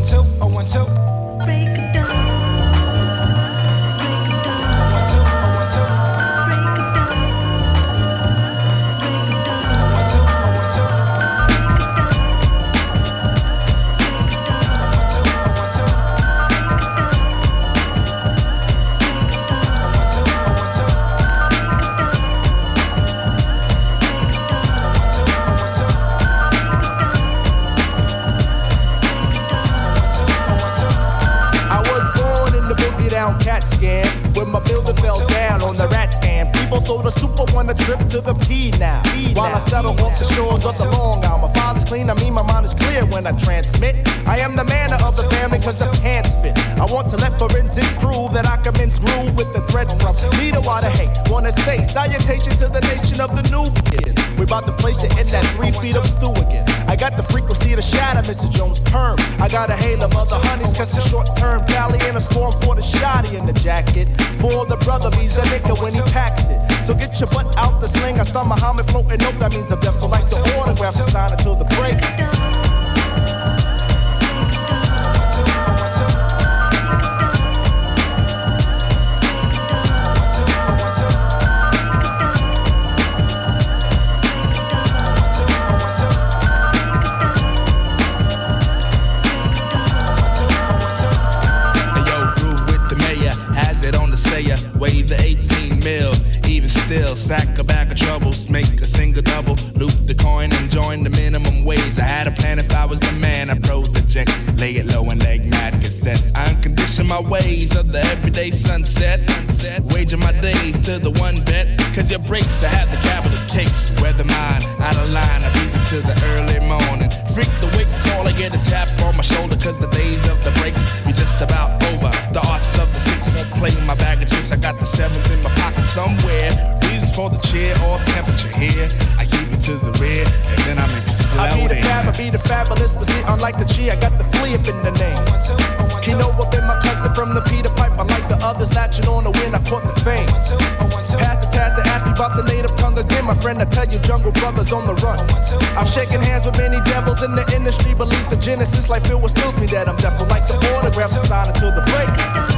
When I transmit, I am the manner of the family cause the pants fit. I want to let forensics prove that I commence groove with the thread from leader water hate. Wanna say salutation to the nation of the new kids. We about to place it in that 3 feet of stew again. I got the frequency to shatter Mr. Jones' perm. I got a hail of other honeys cause the short-term tally and a storm for the shotty in the jacket. For the brother, he's a nigga when he packs it. So get your butt out the sling. I start Muhammad floating, nope, that means I'm deaf. So like the autograph, and sign until the break. Weigh the 18 mil, even still, sack a bag of troubles, make a single double, loop the coin and join the minimum wage. I had a plan if I was the man, I project, lay it low and leg mad cassettes. I uncondition my ways of the everyday sunset, waging my days to the one bet, cause your breaks, I have the capital case. Weather mine, out of line, I reason to the early morning. Freak the wake call, I get a tap on my shoulder, cause the days of the breaks be just about over. The arts of the six won't play my bag of chips, I got the sevens in my pocket somewhere. Reasons for the cheer or temperature here, I keep it to the rear, and then I'm exploding. I be the fabulous, but see, unlike the G, I got the flea up in the name. Kinova been my cousin from the Peter Pipe, unlike the others latching on the win, I caught the fame. Pass the task to ask me about the native tongue again, my friend, I tell you, Jungle Brothers on the run. I've shaken hands with many devils in the industry, believe the genesis, like Phil, what stills me that I'm deaf, like the autograph, I sign until the break.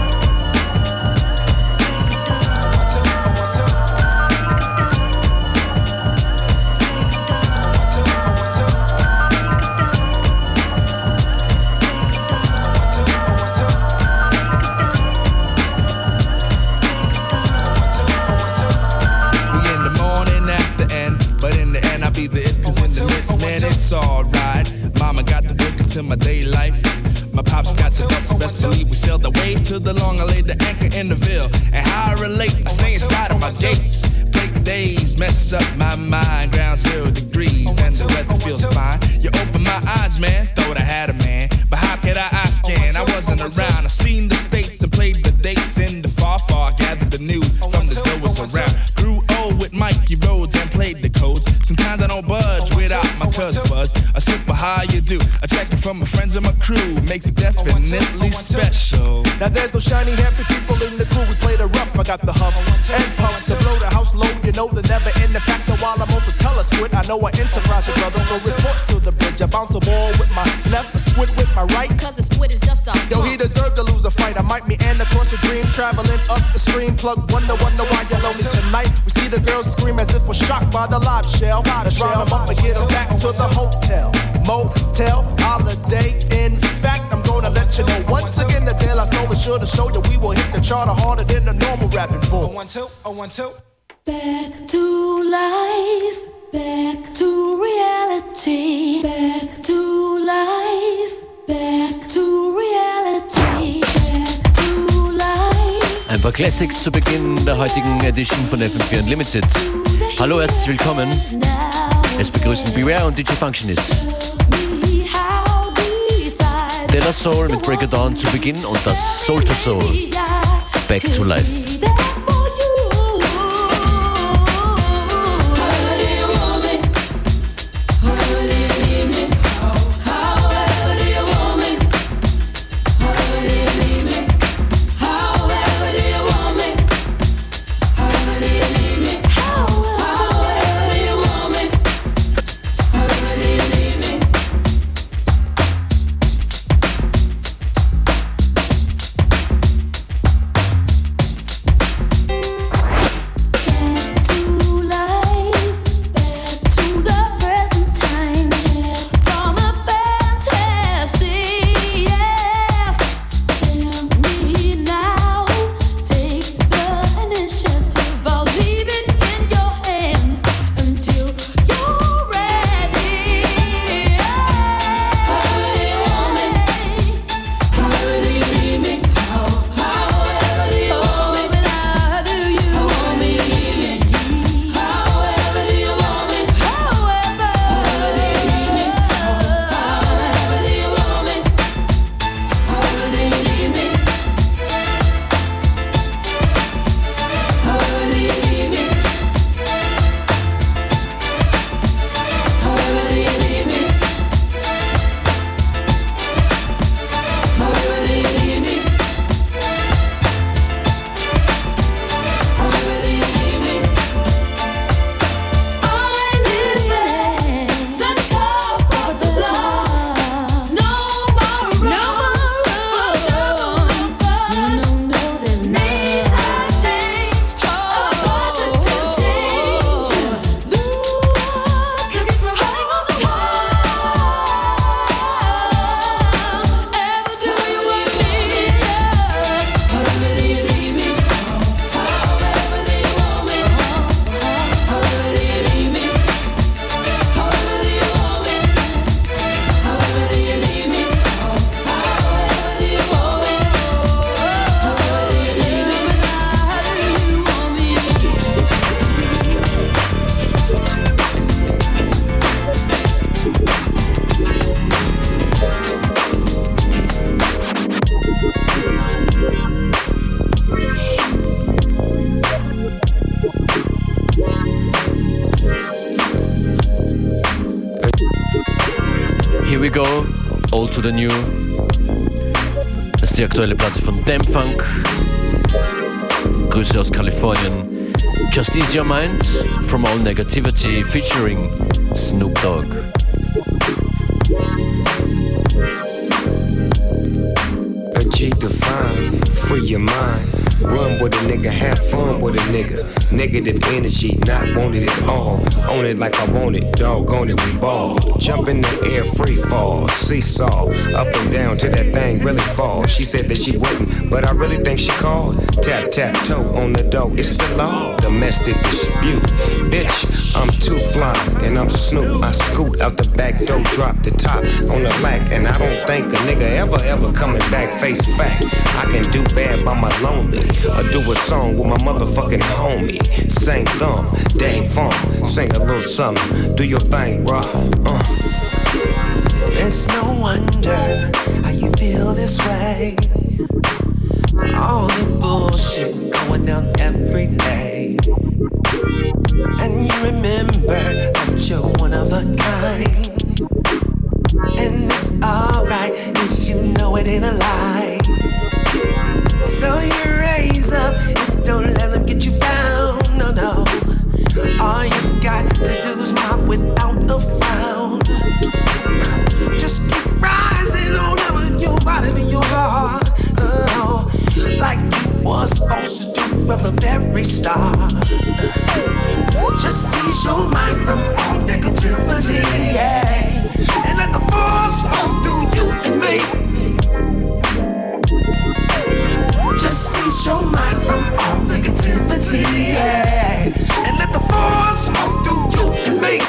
It's alright, mama got the book into my day life. My pops got the ducks, best believe we sailed the wave to the long. I laid the anchor in the Ville, and how I relate, I stay inside of my gates. Break days, mess up my mind, ground 0 degrees, and the weather feels fine. You open my eyes, man, thought I had a man, but how could I scan? I wasn't around, I seen the states and played the dates in the far, gathered the news from the Zoas around. Grew old with Mikey Rhodes and played the codes. Sometimes I don't budge without my cuz fuzz. A simple how you do, a checking from my friends and my crew makes it definitely special. Now there's no shiny happy people in the crew, we play the rough. I got the huff and puff to blow the house low. You know the never end the factor while I'm over telesquid. I know I enterprise with brothers, so report to the bridge. I bounce a ball with my left, a squid with my right. Cause the squid is just a yo, he deserved to lose a fight. I might meander across your dream, traveling up the stream. Plug wonder why you're lonely tonight. We see the girls scream as if we're shocked by the live shell. Let's round them up and get them back to the hotel, motel, holiday. In fact, I'm gonna let you know once again the De La Soul is sure to show you we will hit the charter harder than the normal rapping bull. 1 2 1 2. Back to life, back to reality, back to life, back to reality, back to life. Ein paar Classics zu Beginn der heutigen Edition von FM4 Unlimited. Hallo, herzlich willkommen. Es begrüßen Beware und DJ Functionist. De La Soul mit Break It Down zu Beginn und das Soul to Soul. Back to Life. the New. Das ist die aktuelle Platte von Damn Funk. Grüße aus Kalifornien. Just Ease Your Mind, From All Negativity, featuring Snoop Dogg. Achieve the fine, free your mind. Run with a nigga, have fun with a nigga. Negative energy, not wanted at all. Own it like I want it, doggone it, we ball. Jump in the air, free fall, seesaw. Up and down till that thing really falls. She said that she wouldn't, but I really think she called. Tap, tap, toe on the door, it's the law. Domestic dispute, bitch, I'm too fly. And I'm Snoop, I scoot out the back door, drop the top on the lack. And I don't think a nigga ever coming back, face fact. I can do bad by my lonely. Or do a song with my motherfucking homie. Sing thumb, dang funk, sing a little something. Do your thing, bro. It's no wonder how you feel this way. All the bullshit going down every day. And you remember that you're one of a kind. And it's alright, cause you know it ain't a lie. So you raise up and don't let them get you down, no, no. All you got to do is mop without a frown. Just keep rising on whatever your body be your heart, oh, like you was supposed to do from the very start. Just seize your mind from all negativity, yeah, and let the force flow through you and me. Just seize your mind from all negativity, yeah, and let the force flow through you and me.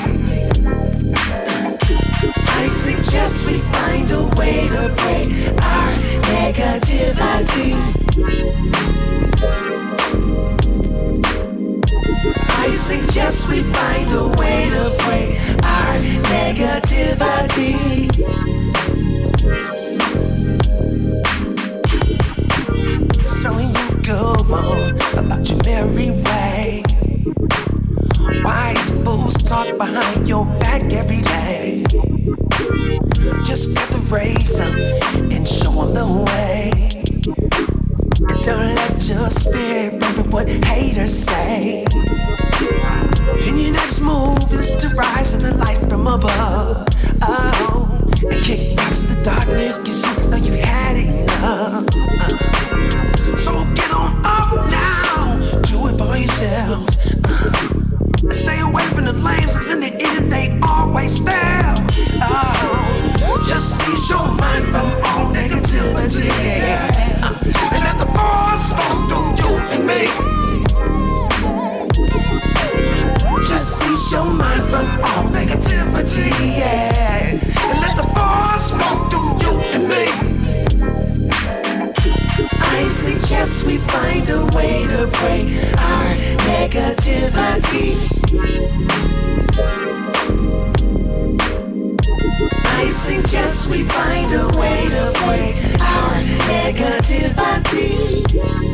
I suggest we find a way to break our negativity. I suggest we find a way to break our negativity. So you go on about your merry way. Why these fools talk behind your back every day? Just get the raise up and show them the way. And don't let your spirit remember what haters say. Then your next move is to rise to the light from above. Oh, and kick rocks the darkness, cause you know you've had enough. So get on up now, do it for yourself. Stay away from the lames, cause in the end they always fail. Oh, just seize your mind from all negativity, and let the force flow through you and me. Just seize your mind from all negativity, yeah, and let the force flow through you and me. I suggest we find a way to break our negativity. I suggest we find a way to break our negativity.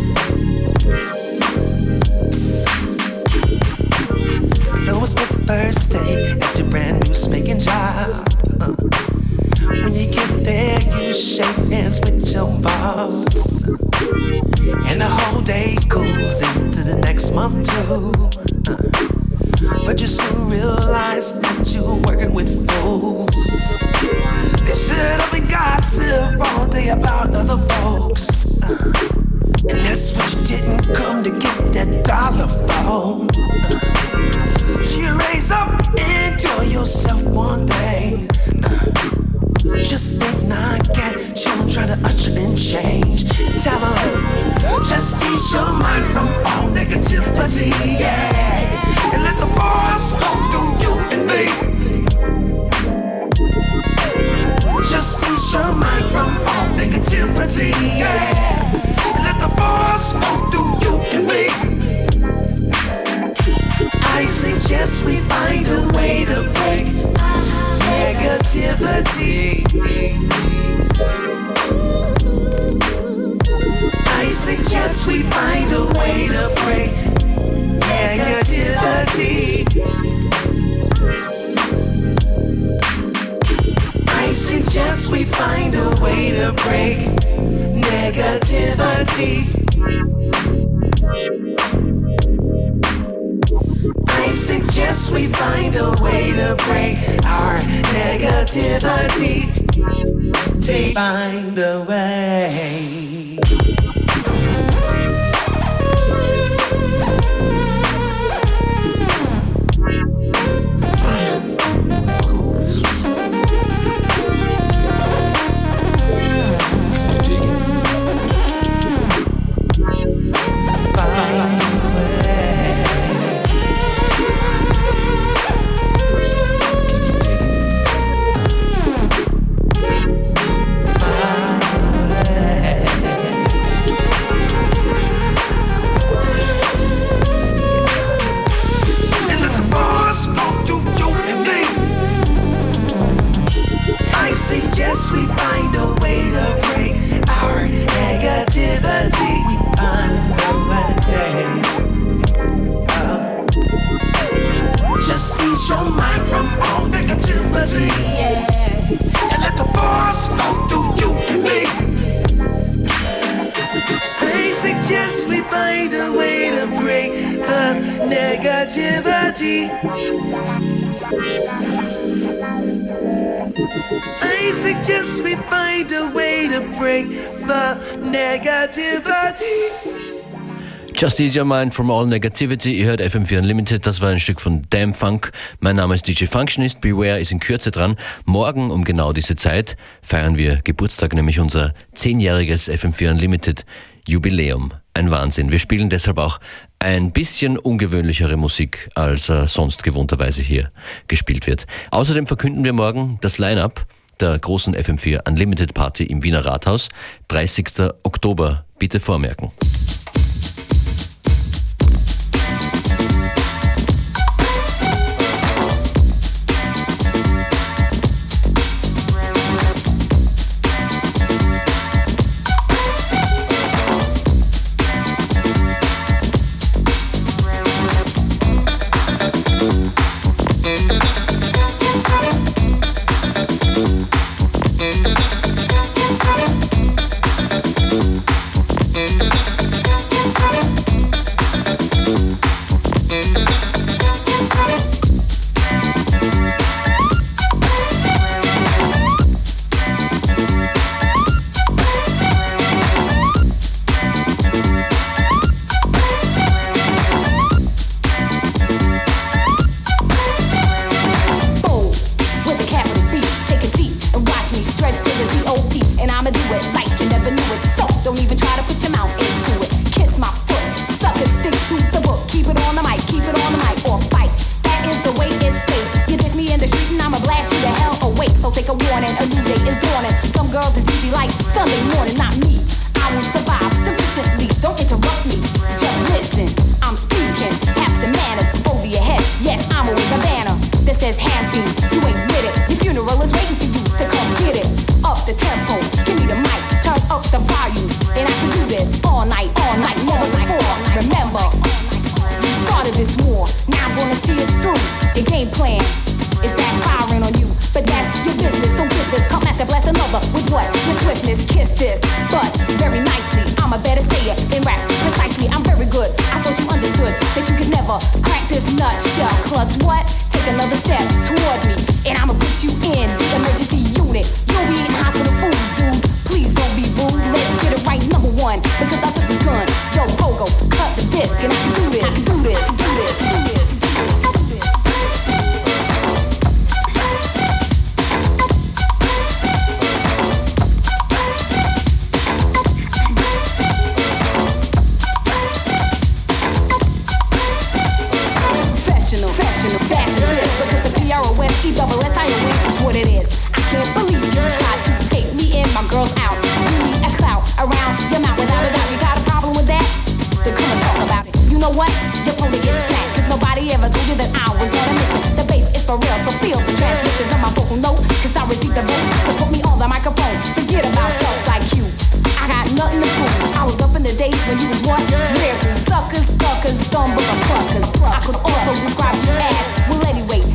So it's the first day at your brand new spanking job. When you get there, you shake hands with your boss, and the whole day goes into the next month too. But you soon realize that you're working with fools. They sit up and gossip all day about other folks, and that's what you didn't come to get that dollar for. So you raise up and tell yourself one thing. Just think non-cat, children trying to usher in change. Tell them, just seize your mind from all negativity, yeah, and let the force flow through you and me. Just seize your mind from all negativity, yeah, and let the force flow through you and me. I suggest we find a way to break negativity. I suggest we find a way to break negativity. I suggest we find a to break negativity. I suggest we find a way to break our negativity. Find a way. Suggest we find a way to break our negativity. We find a way. Just seize your mind from all negativity, yeah. And let the force go through you and me. I suggest we find a way to break the negativity. I suggest we find a way to break the negativity. Just Ease Your Mind from All Negativity. Ihr hört FM4 Unlimited, das war ein Stück von Damn Funk. Mein Name ist DJ Functionist, Beware ist in Kürze dran. Morgen um genau diese Zeit feiern wir Geburtstag, nämlich unser 10-jähriges FM4 Unlimited Jubiläum. Ein Wahnsinn. Wir spielen deshalb auch ein bisschen ungewöhnlichere Musik, als sonst gewohnterweise hier gespielt wird. Außerdem verkünden wir morgen das Line-Up der großen FM4 Unlimited Party im Wiener Rathaus. 30. Oktober. Bitte vormerken.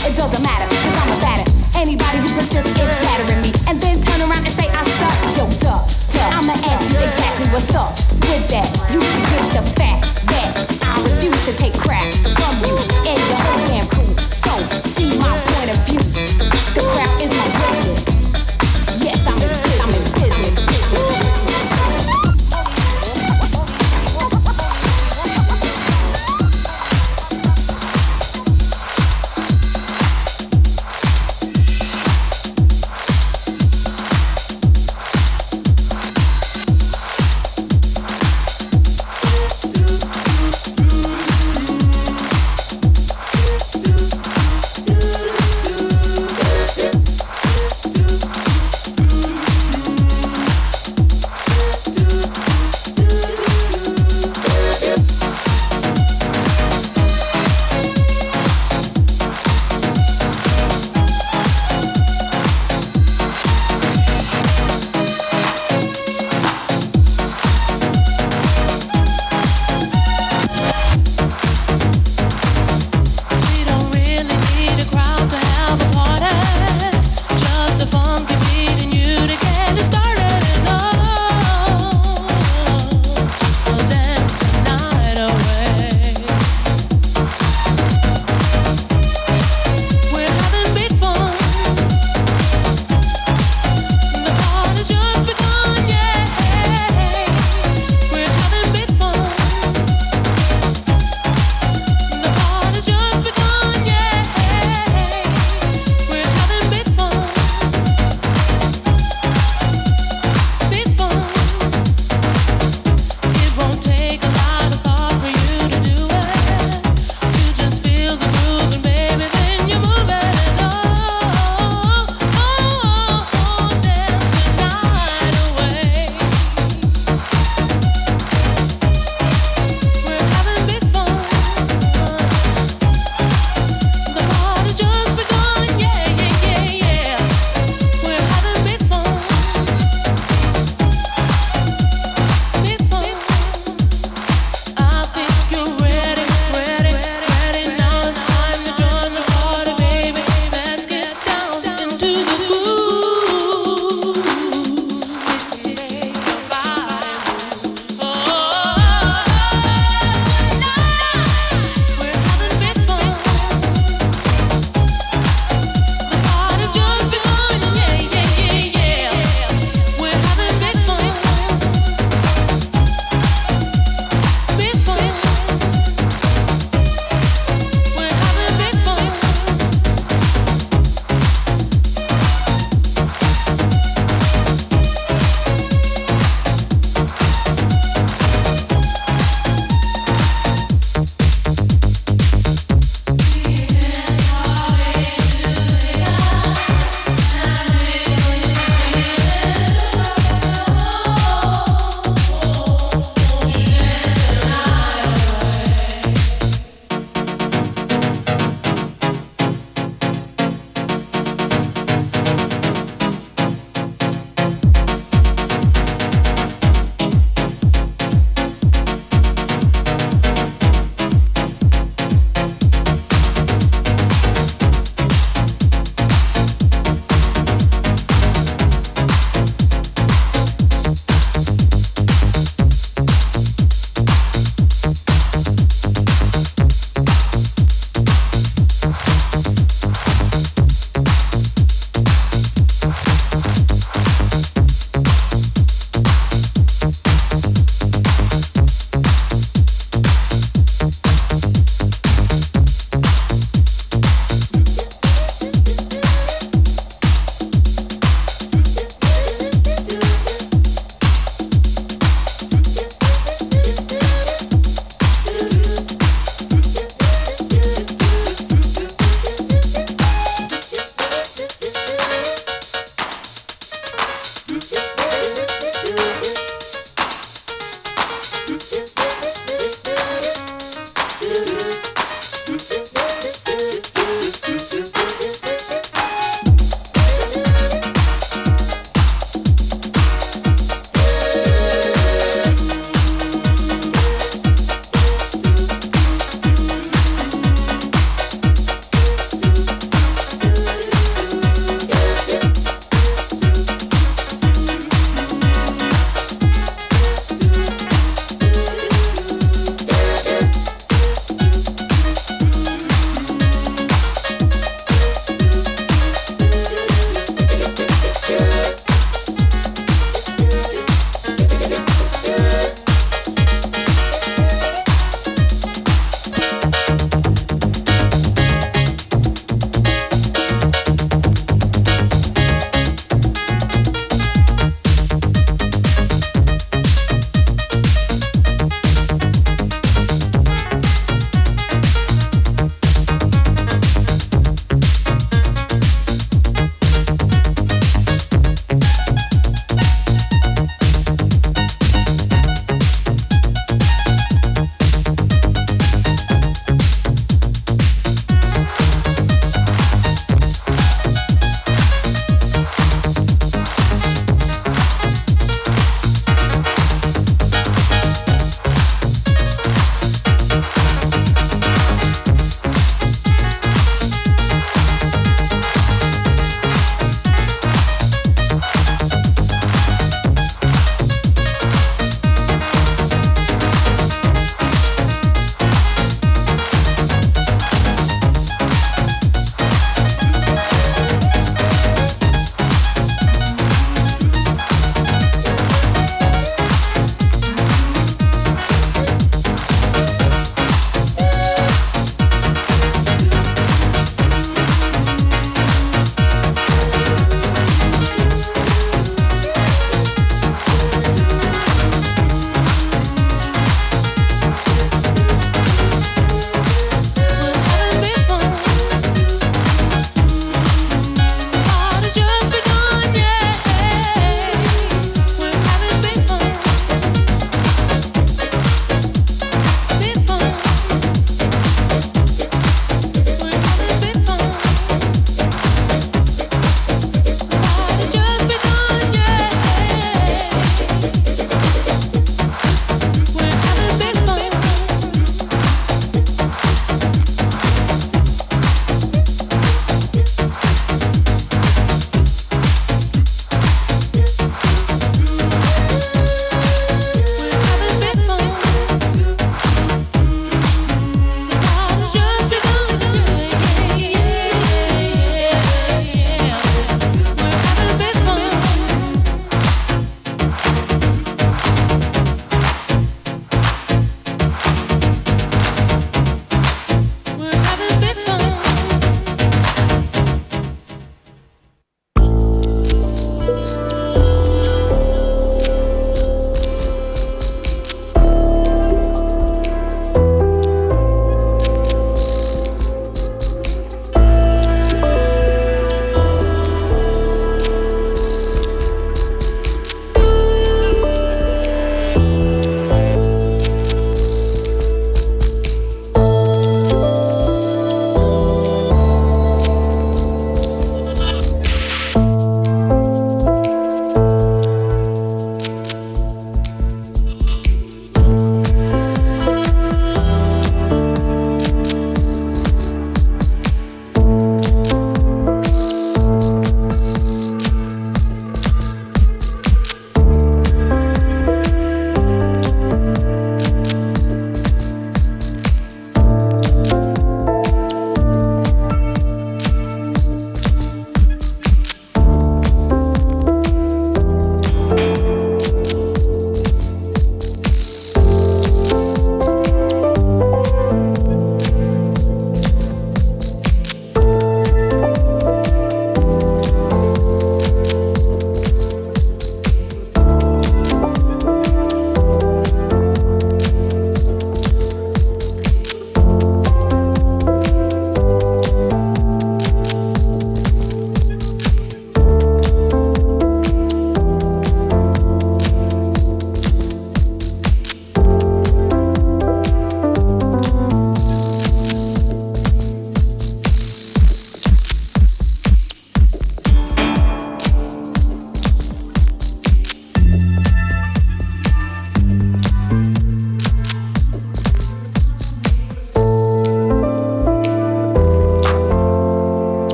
Anybody who persists in flattering me and then turn around and say I suck, yo, duh. what's up with that? You get the fact that I refuse to take crap from you and your whole damn crew. So, see my point of view. The crowd is my witness. Yes, I'm in business.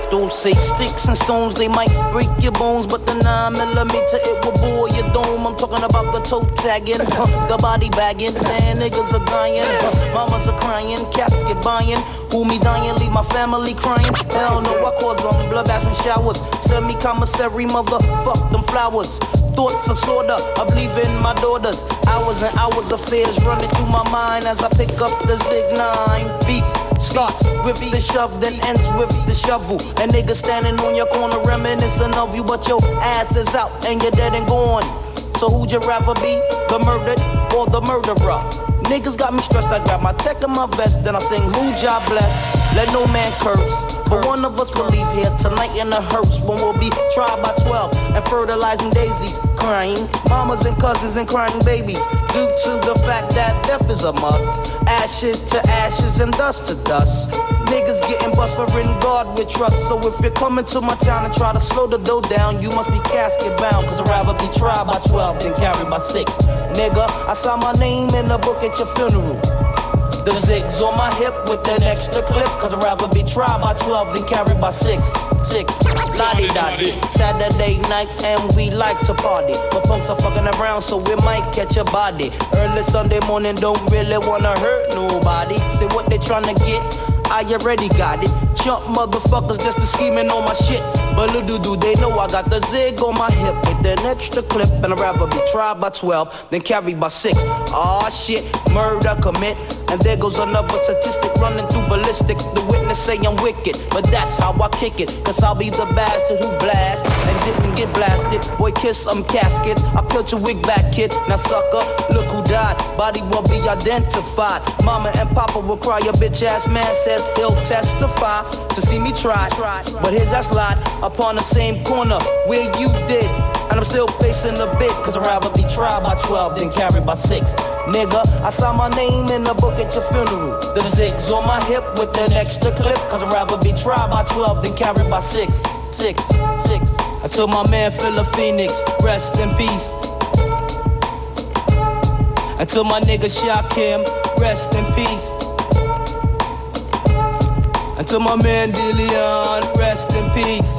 pistols. Say sticks and stones, they might break your bones, but the 9mm, it will bore your dome. I'm talking about the toe tagging, the body bagging. Man, niggas are dying, mamas are crying, casket buying. Who me dying, leave my family crying. Hell no, I cause them bloodbaths and showers. Send me commissary, motherfuck them flowers. Thoughts of slaughter, of leaving my daughters. Hours and hours of fears running through my mind as I pick up the Zig 9. Beef starts with the shove, then ends with the shovel. And niggas standing on your corner reminiscing of you, but your ass is out and you're dead and gone. So who'd you rather be, the murdered or the murderer? Niggas got me stressed, I got my tech in my vest, then I sing who job bless, let no man curse. But one of us will leave here tonight in a hearse when we'll be tried by 12 and fertilizing daisies, crying mamas and cousins and crying babies due to the fact that death is a must. Ashes to ashes and dust to dust. Niggas getting bust for in God with trust. So if you're coming to my town and try to slow the dough down, you must be casket bound, cause I'd rather be tried by 12 than carried by 6. Nigga, I saw my name in the book at your funeral. The zigs on my hip with an extra clip, cause I'd rather be tried by 12 than carried by 6. La-di-da-di. Saturday night and we like to party, but punks are fucking around so we might catch a body. Early Sunday morning don't really wanna hurt nobody. See what they tryna get, I already got it. Chump motherfuckers just to scheming on my shit. But little do they know I got the zig on my hip with an extra clip, and I'd rather be tried by 12 than carried by 6. Aw shit, murder commit. And there goes another statistic running through ballistic. The witness say I'm wicked, but that's how I kick it. Cause I'll be the bastard who blast and didn't get blasted. Boy, kiss some casket, I peeled your wig back, kid. Now sucker, look who died, body will be identified. Mama and papa will cry, your bitch ass man says he'll testify to see me try. But his ass lied upon the same corner where you did. And I'm still facing the bit, cause I'd rather be tried by 12 than carried by 6. Nigga, I saw my name in the book at your funeral. The zigs on my hip with an extra clip, cause I'd rather be tried by 12 than carried by 6. I told my man Philip Phoenix, rest in peace. I told my nigga Shakim, rest in peace. I told my man DeLeon, rest in peace.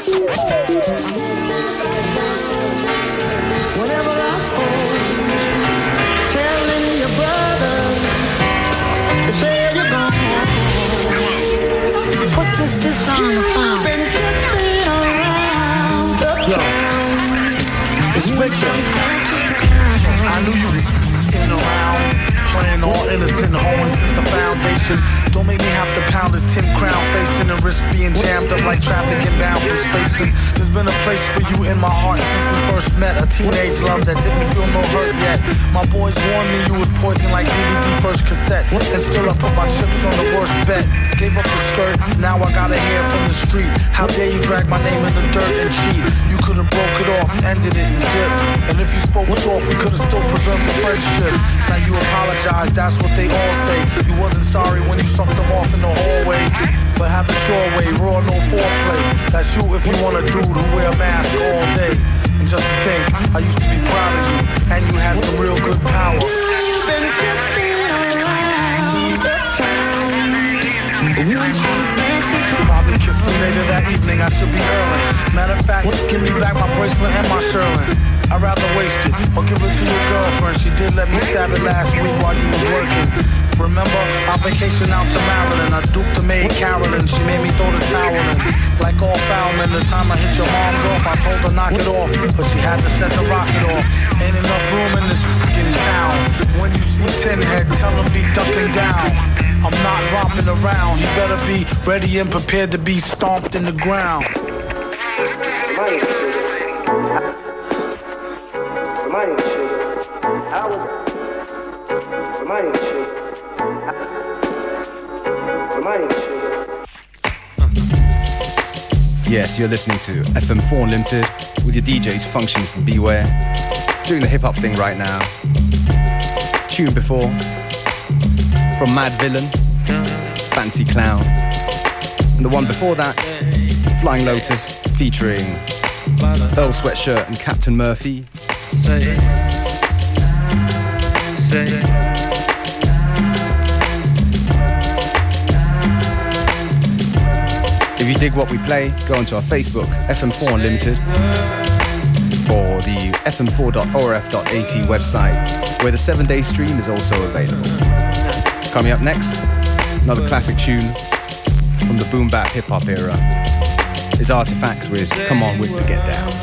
Whenever I fall, telling your brothers, they say you're gone. Put your sister on the phone. Yo, it's Victor. I knew you was in around, playing all innocent, hoeing since the foundation. Don't make me have to pound this 10 crown facing and risk being jammed up like traffic inbound from spacing. There's been a place for you in my heart since we first met. A teenage love that didn't feel no hurt yet. My boys warned me you was poison like BBD first cassette. And still I put my chips on the worst bet. Gave up the skirt, now I gotta hear from the street. How dare you drag my name in the dirt and cheat? You could've broke it off, ended it and dipped. And if you spoke soft, we could've still preserved the friendship. Now you apologize, that's what they all say. You wasn't sorry when you sucked them off in the hallway. But have it your way, raw, no foreplay. That's you if you want a dude who wear a mask all day. And just to think, I used to be proud of you, and you had some real good power. You've been tipping around the town. Probably kiss me later that evening, I should be early. Matter of fact, give me back my bracelet and my Sherlin. I'd rather waste it, or give it to your girlfriend. She did let me stab it last week while you was working. Remember, our vacation out to Maryland, I duped the maid Carolyn. She made me throw the towel in. Like all foulmen, the time I hit your mom's off, I told her knock it off, but she had to set the rocket off. Ain't enough room in this fucking town. When you see Tin Head, tell him be ducking down. I'm not romping around, he better be ready and prepared to be stomped in the ground. Yes, you're listening to FM4 Unlimited with your DJs Functionist and Beware. Doing the hip-hop thing right now. Tune before from Mad Villain, Fancy Clown. And the one before that, Flying Lotus, featuring Earl Sweatshirt and Captain Murphy. If you dig what we play, go onto our Facebook, FM4 Unlimited, or the fm4.orf.at website, where the 7-day stream is also available. Coming up next, another classic tune from the boom bap hip hop era is Artifacts with Come On With The Get Down.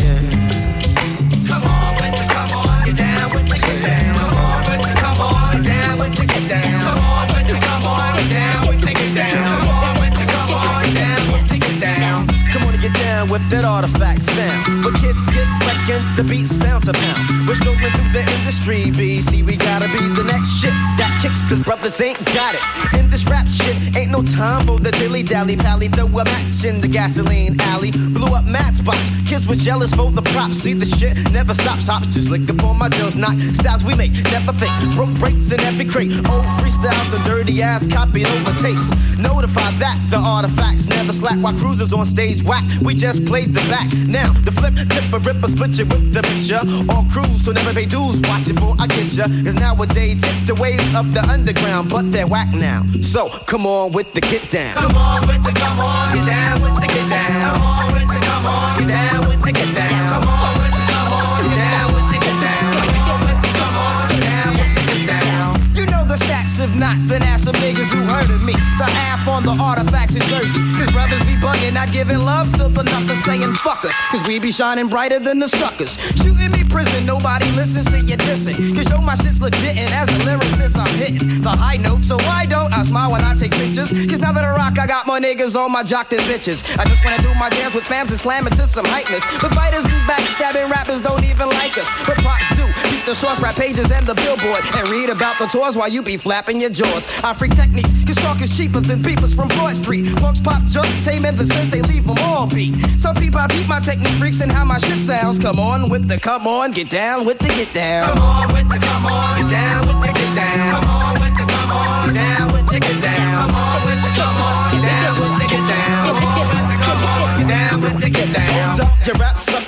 Come on with the come on, get down with the get down. Come on with the come on, get down with the get down. Come on with the come on, get down with the get down. Come on with the come on, get down with the get down. Come on and get down with that artifact sound. But kids get wrecking, the beat's bound to pound. We're strolling through the industry, BC. We gotta be the next shit that kicks, cause brothers ain't got it. In this rap shit, ain't no time for the dilly-dally pally. Throw a match in the gasoline alley. Blew up mad spots, kids were jealous for the props. See the shit never stops, hops just lick up on my jaws. Knock styles we make, never fake. Broke breaks in every crate. Old freestyles and dirty ass copied over tapes. Notify that the artifacts never slack. While cruisers on stage whack, we just played the back. Now the flip, tip a ripper, split you with the picture. All crews, so never pay dues, watch it for I get ya. Cause nowadays it's the ways of the underground, but they're whack now. So come on with the get down. Come on with the come on, get down with the get down. Come on with the come on, get down with the get down. Come on with the come on, get down with the get down. Come on with the come on, get down with the get down. You know the stats, if not, then ask some niggas who heard of me. The half on the artifacts in Jersey. Cause brothers be bugging, not giving love to the knuckers, saying fuck us. Cause we be shining brighter than the suckers. Shooting me prison, nobody listens to you dissing. Cause yo, my shit's legit, and as a lyricist, I'm hitting the high note. So why don't I smile when I take pictures? Cause now that I rock, I got more niggas on my jock than bitches. I just wanna do my dance with fams and slam it to some hypeness. But fighters and backstabbing rappers don't even like us. But props do, beat the source rap pages and the billboard. And read about the tours while you be flapping your jaws. I freak techniques, cause talk is cheaper than beepers from Broad Street. Punks pop, joke, tame, and the sensei leave them all beat. Some people I keep my technique freaks and how my shit sounds. Come on with the come on, get down with the get down. Come on with the come on, get down with the get down. Come on with the come on, get down with the get down. Come on with the come on, get down with the get down. Come on with the come on, get down with the get down. Hold up, your rap sucker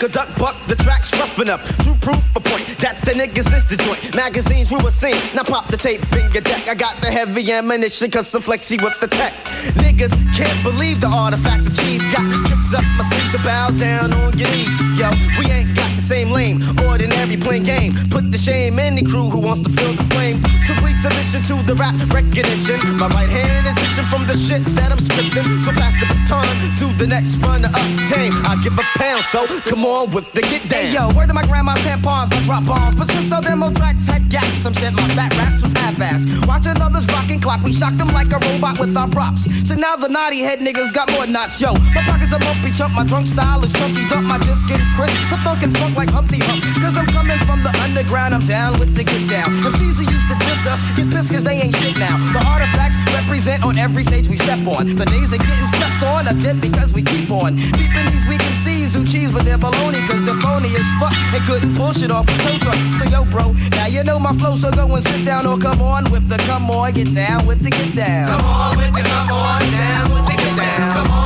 a duck buck, the track's rough enough to prove a point that the niggas is the joint. Magazines we were seeing, now pop the tape in your deck. I got the heavy ammunition, cause I'm flexy with the tech. Niggas can't believe the artifacts achieved. Got tricks up my sleeves, so bow down on your knees. Yo, we ain't got the same lane, ordinary plain game. Put the shame in the crew who wants to feel the flame. So please submission to the rap recognition. My right hand is itching from the shit that I'm scripting. So pass the baton to the next runner-up team. I give a pound, so come on with the get down. Hey, yo, word to my grandma's tampons, I drop bombs. But since our demo tracks had gaps, some said my fat raps was half-assed. Watching others rockin' clock, we shocked them like a robot with our props. So now the naughty head niggas got more knots, yo. My pockets are bumpy chump, my drunk style is chunky. Dump my disc in crisp, the funkin' funk like Humpty Hump. Cause I'm coming from the underground, I'm down with the get down. If Caesar used to diss us, get pissed cause they ain't shit now. The artifacts represent on every stage we step on. The days of getting stepped on are dead because we keep on beeping these weak MCs who cheese with their baloney. Cause they're phony as fuck and couldn't pull shit off a tow truck. So yo bro, now you know my flow, so go and sit down or come on with the come on, get down with the get down. Come on with the come on, down with the get down. Come on.